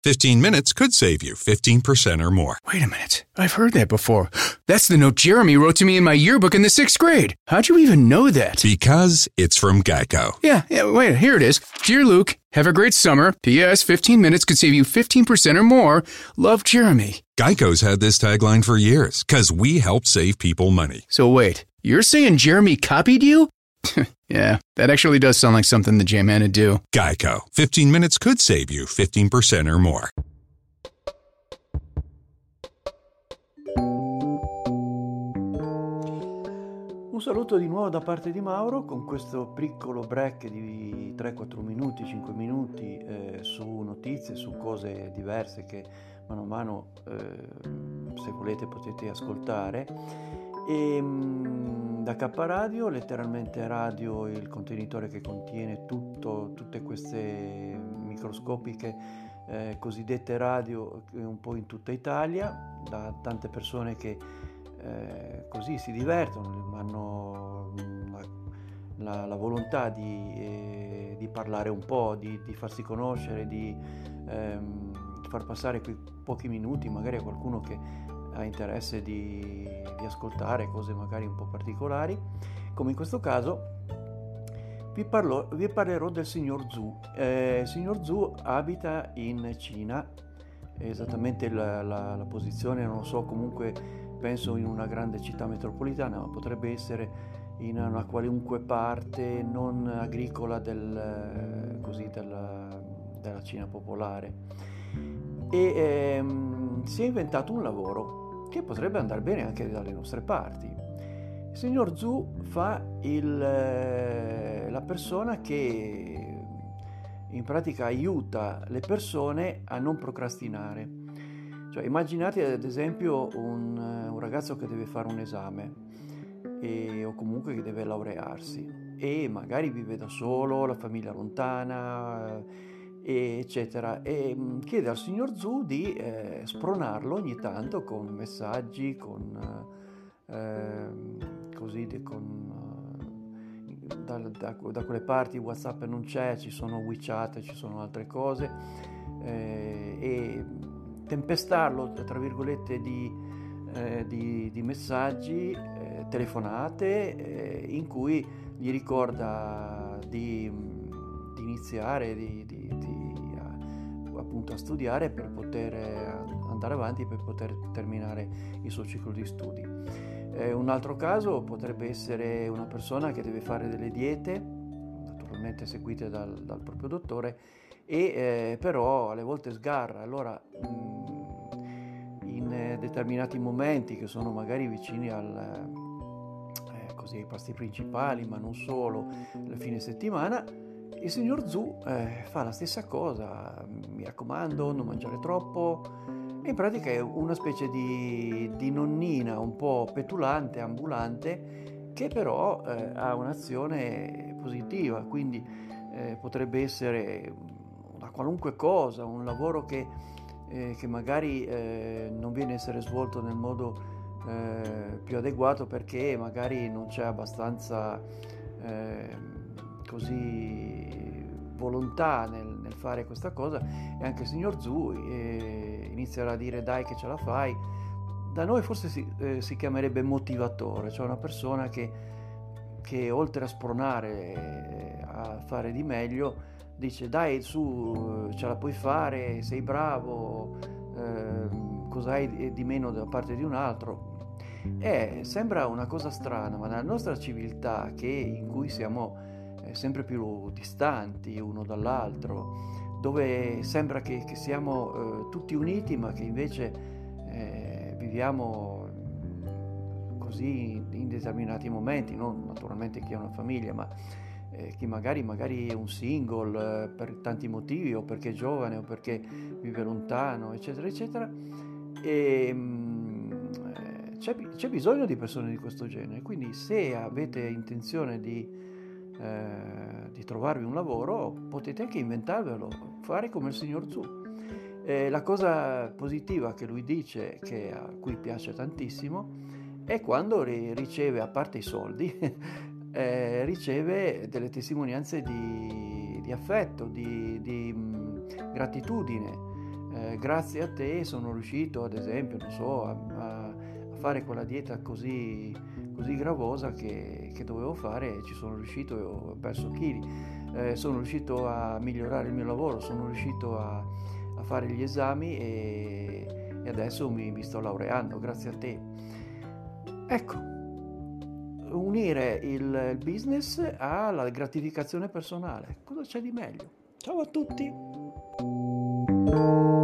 15 minutes could save you 15% or more. Wait a minute. I've heard that before. That's the note Jeremy wrote to me in my yearbook in the 6th grade. How'd you even know that? Because it's from Geico. Yeah, wait, here it is. Dear Luke, have a great summer. P.S. 15 minutes could save you 15% or more. Love, Jeremy. Geico's had this tagline for years, because we help save people money. So wait, you're saying Jeremy copied you? Yeah, that actually does sound like something the J-Man would do. Geico. 15 minutes could save you 15% or more. Un saluto di nuovo da parte di Mauro con questo piccolo break di 3-4 minuti, 5 minuti su notizie, su cose diverse che mano a mano, se volete, potete ascoltare. E da K Radio, letteralmente radio, il contenitore che contiene tutte queste microscopiche cosiddette radio un po' in tutta Italia, da tante persone che così si divertono, hanno la volontà di parlare un po', di farsi conoscere, di far passare quei pochi minuti magari a qualcuno che ha interesse di ascoltare cose magari un po' particolari, come in questo caso vi parlerò del signor Zhu. Il signor Zhu abita in Cina, esattamente la posizione non lo so, comunque penso in una grande città metropolitana, ma potrebbe essere in una qualunque parte non agricola della Cina popolare, e si è inventato un lavoro che potrebbe andare bene anche dalle nostre parti. Il signor Zhu fa la persona che in pratica aiuta le persone a non procrastinare. Cioè, immaginate ad esempio un ragazzo che deve fare un esame o comunque che deve laurearsi e magari vive da solo, la famiglia lontana, eccetera, e chiede al signor Zhu di spronarlo ogni tanto con messaggi, da quelle parti WhatsApp non c'è, ci sono WeChat, ci sono altre cose, e tempestarlo tra virgolette di messaggi, telefonate, in cui gli ricorda di iniziare appunto a studiare per poter andare avanti, per poter terminare il suo ciclo di studi. Un altro caso potrebbe essere una persona che deve fare delle diete, naturalmente seguite dal proprio dottore, e però alle volte sgarra. Allora in determinati momenti che sono magari vicini ai pasti principali, ma non solo, il fine settimana, il signor Zhu fa la stessa cosa: mi raccomando, non mangiare troppo. In pratica è una specie di nonnina un po' petulante, ambulante, che però ha un'azione positiva, quindi potrebbe essere una qualunque cosa, un lavoro che magari non viene a essere svolto nel modo più adeguato perché magari non c'è abbastanza volontà nel fare questa cosa, e anche il signor Zhu inizierà a dire: dai che ce la fai. Da noi forse si chiamerebbe motivatore, cioè una persona che oltre a spronare a fare di meglio dice: dai, su, ce la puoi fare, sei bravo, cos'hai di meno da parte di un altro. Sembra una cosa strana, ma nella nostra civiltà, in cui siamo sempre più distanti uno dall'altro, dove sembra che siamo tutti uniti, ma che invece viviamo così in determinati momenti, non naturalmente chi ha una famiglia, ma chi magari è un single per tanti motivi, o perché è giovane, o perché vive lontano, eccetera eccetera, e c'è bisogno di persone di questo genere. Quindi se avete intenzione di trovarvi un lavoro, potete anche inventarvelo, fare come il signor Zhu. La cosa positiva che lui dice, che a cui piace tantissimo, è quando riceve, a parte i soldi, riceve delle testimonianze di affetto, di gratitudine, grazie a te sono riuscito, ad esempio, non so, a fare quella dieta così gravosa che dovevo fare, e ci sono riuscito e ho perso chili. Sono riuscito a migliorare il mio lavoro, sono riuscito a fare gli esami e adesso mi sto laureando grazie a te. Ecco, unire il business alla gratificazione personale, cosa c'è di meglio? Ciao a tutti!